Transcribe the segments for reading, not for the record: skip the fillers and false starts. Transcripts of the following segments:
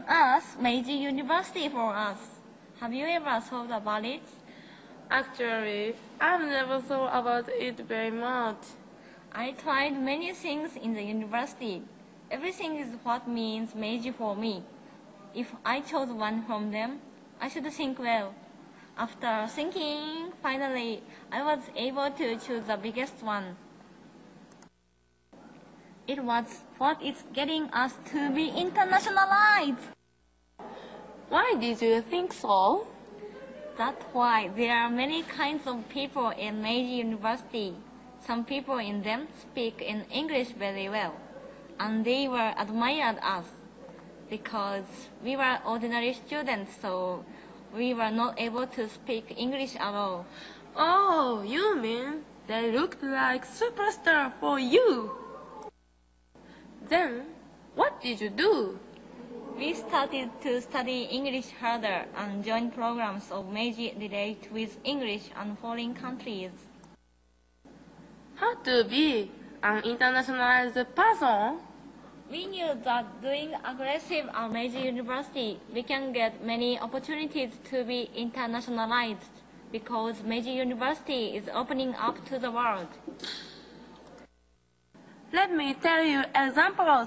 on Earth, Meiji University for us. Have you ever thought about it? Actually, I've never thought about it very much. I tried many things in the university. Everything is what means Meiji for me. If I chose one from them, I should think well. After thinking, finally, I was able to choose the biggest one. It was what is getting us to be internationalized. Why did you think so? That's why there are many kinds of people in Meiji University. Some people in them speak in English very well, and they were admired us because we were ordinary students, so we were not able to speak English at all. Oh, you mean they looked like superstar for you? Then, what did you do? We started to study English harder and join programs of Meiji relate with English and foreign countries. How to be an internationalized person? We knew that doing aggressive at Meiji University, we can get many opportunities to be internationalized because Meiji University is opening up to the world. Let me tell you examples.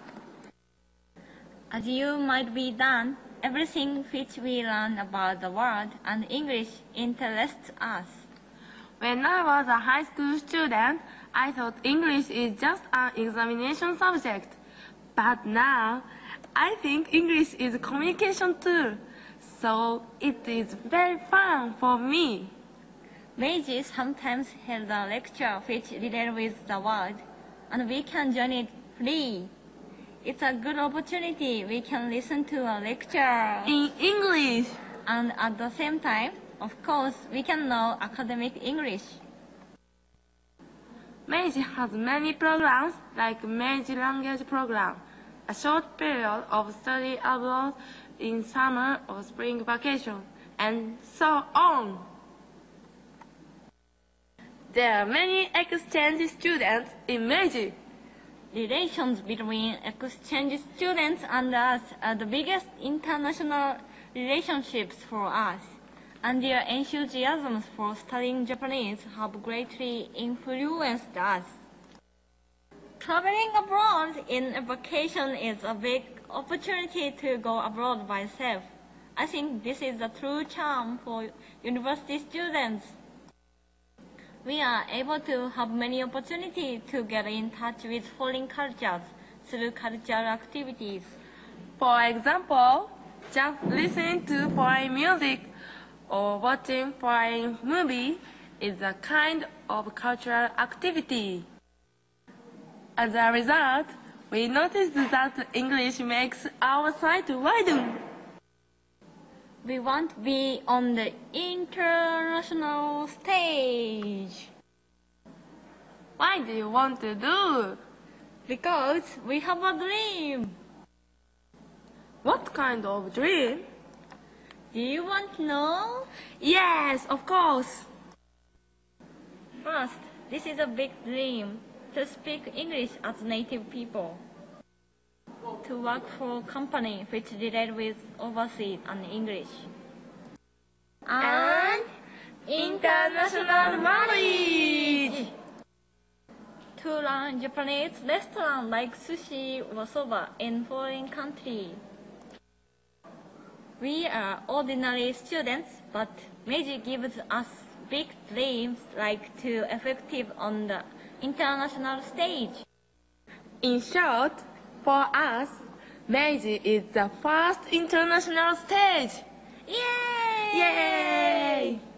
As you might be done, everything which we learn about the world and English interests us. When I was a high school student, I thought English is just an examination subject. But now, I think English is a communication tool, so it is very fun for me. Meiji sometimes held a lecture which relates with the world, and we can join it free. It's a good opportunity. We can listen to a lecture In English. And at the same time, of course, we can know academic English. Meiji has many programs like Meiji Language Program, a short period of study abroad in summer or spring vacation, and so on. There are many exchange students in Meiji. Relations between exchange students and us are the biggest international relationships for us, and their enthusiasm for studying Japanese have greatly influenced us. Traveling abroad in a vacation is a big opportunity to go abroad by self. I think this is the true charm for university students. We are able to have many opportunities to get in touch with foreign cultures through cultural activities. For example, just listening to foreign music or watching foreign movie is a kind of cultural activity. As a result, we noticed that English makes our sight widen. We want to be on the international stage. Why do you want to do? Because we have a dream. What kind of dream? Do you want to know? Yes, of course. First, this is a big dream, to speak English as native people. To work for a company which relate with overseas and English. And international knowledge. To learn Japanese restaurant like sushi or soba in foreign country. We are ordinary students, but Meiji gives us big dreams like to effective on the international stage. In short, for us, Meiji is the first international stage. Yay! Yay!